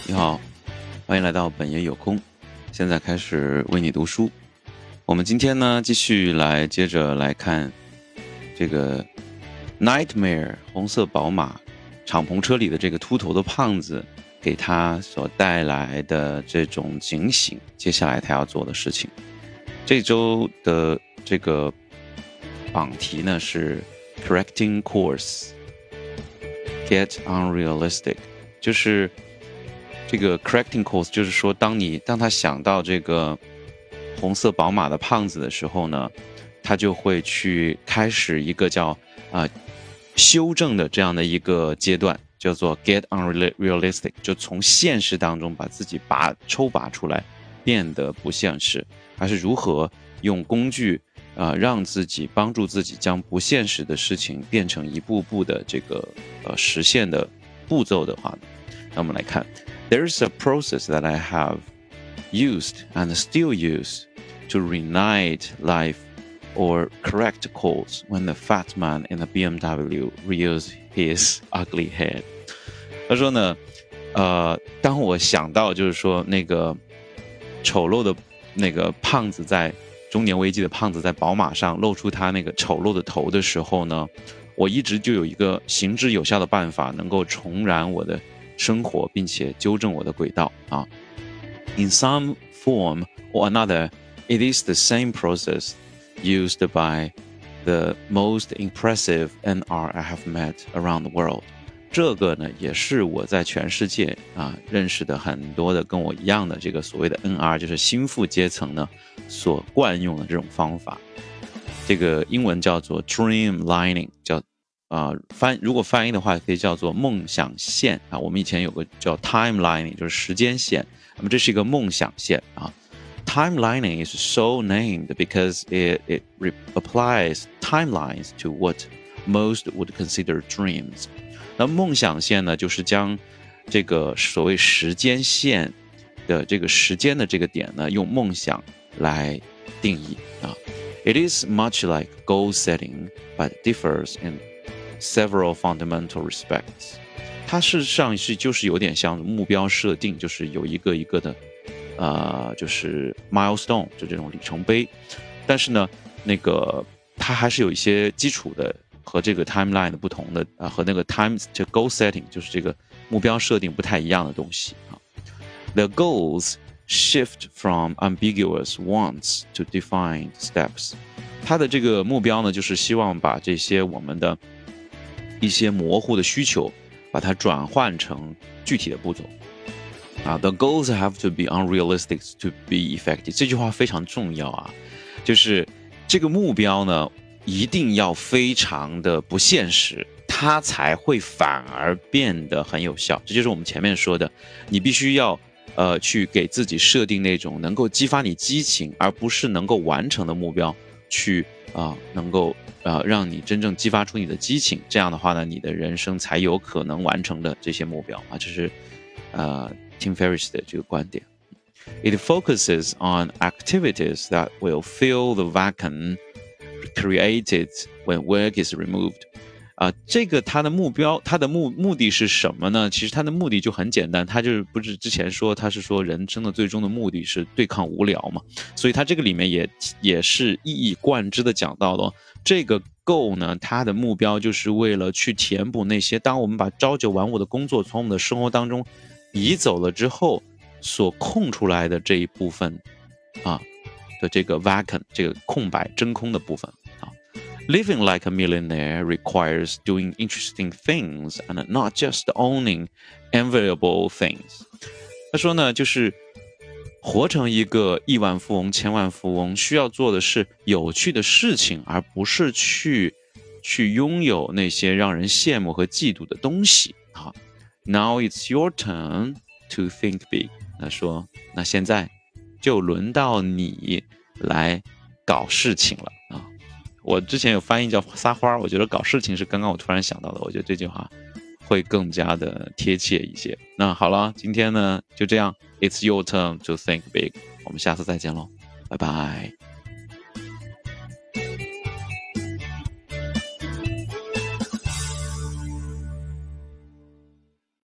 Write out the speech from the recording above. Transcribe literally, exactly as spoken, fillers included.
你好，欢迎来到本爷有空，现在开始为你读书。我们今天呢，继续来接着来看这个 Nightmare 红色宝马敞篷车里的这个秃头的胖子给他所带来的这种警醒，接下来他要做的事情。这周的这个榜题呢是 Correcting Course Get Unrealistic， 就是这个 correcting course， 就是说当你当他想到这个红色宝马的胖子的时候呢，他就会去开始一个叫啊、呃、修正的这样的一个阶段，叫做 get unrealistic， 就从现实当中把自己拔抽拔出来，变得不现实，还是如何用工具啊、呃、让自己帮助自己将不现实的事情变成一步步的这个呃实现的步骤的话呢，那我们来看。There's a process that I have used and still use to reignite life or correct course when the fat man in the B M W rears his ugly head. 他说呢，呃，当我想到就是说那个丑陋的那个胖子在中年危机的胖子在宝马上露出他那个丑陋的头的时候呢，我一直就有一个行之有效的办法，能够重燃我的生活，并且纠正我的轨道啊。In some form or another, it is the same process used by the most impressive N R I have met around the world. 这个呢，也是我在全世界啊认识的很多的跟我一样的这个所谓的 N R， 就是心腹阶层呢所惯用的这种方法。这个英文叫做 dreamlining， 叫啊、呃，翻如果翻译的话，可以叫做梦想线啊。我们以前有个叫 timelining， 就是时间线。那么这是一个梦想线啊。Timelining is so named because it it applies timelines to what most would consider dreams. 那梦想线呢，就是将这个所谓时间线的这个时间的这个点呢，用梦想来定义啊。It is much like goal setting, but differs in several fundamental respects. 它事实上是就是有点像目标设定，就是有一个一个的呃就是 milestone， 就这种里程碑。但是呢那个它还是有一些基础的和这个 timeline 的不同的啊、呃、和那个 time 就 goal setting 就是这个目标设定不太一样的东西啊。The goals shift from ambiguous wants to defined steps. 它的这个目标呢，就是希望把这些我们的一些模糊的需求，把它转换成具体的步骤。啊 ，The goals have to be unrealistic to be effective。这句话非常重要啊，就是这个目标呢，一定要非常的不现实，它才会反而变得很有效。这就是我们前面说的，你必须要呃去给自己设定那种能够激发你激情，而不是能够完成的目标，去啊、呃、能够呃让你真正激发出你的激情。这样的话呢，你的人生才有可能完成的这些目标啊，这是呃 Tim Ferriss 的这个观点。It focuses on activities that will fill the vacuum created when work is removed. 啊、呃，这个它的目标，它的目目的是什么呢？其实它的目的就很简单，它就是不是之前说，它是说人生的最终的目的是对抗无聊嘛，所以它这个里面也也是一以贯之的讲到了这个 goal 呢，它的目标就是为了去填补那些当我们把朝九晚五的工作从我们的生活当中移走了之后所空出来的这一部分啊的这个 vacuum 这个空白真空的部分啊。Living like a millionaire requires doing interesting things and not just owning enviable things. 他说呢，就是活成一个亿万富翁、千万富翁，需要做的是有趣的事情，而不是去去拥有那些让人羡慕和嫉妒的东西啊。Now it's your turn to think big. 他说，那现在就轮到你来搞事情了啊。我之前有翻译叫撒花，我觉得搞事情是刚刚我突然想到的，我觉得这句话会更加的贴切一些。那好了，今天呢就这样 ，It's your turn to think big。我们下次再见喽，拜拜。